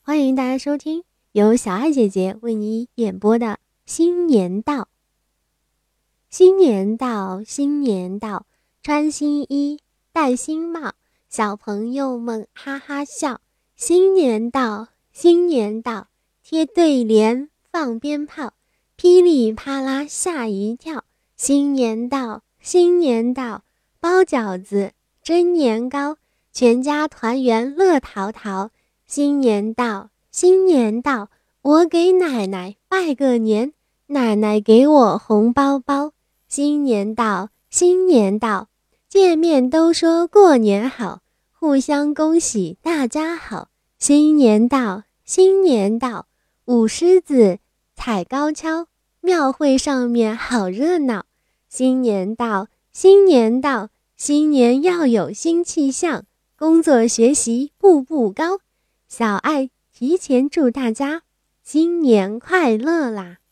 欢迎大家收听由小爱姐姐为你演播的新年到。新年到，新年到，穿新衣，戴新帽，小朋友们哈哈笑。新年到，新年到，贴对联，放鞭炮，噼里啪啦吓一跳。新年到，新年到，包饺子，蒸年糕，全家团圆乐淘淘。新年到，新年到，我给奶奶拜个年，奶奶给我红包包。新年到，新年到，见面都说过年好，互相恭喜大家好。新年到，新年到，舞狮子，踩高跷，庙会上面好热闹。新年到，新年到，新年要有新气象，工作学习步步高。小爱提前祝大家新年快乐啦！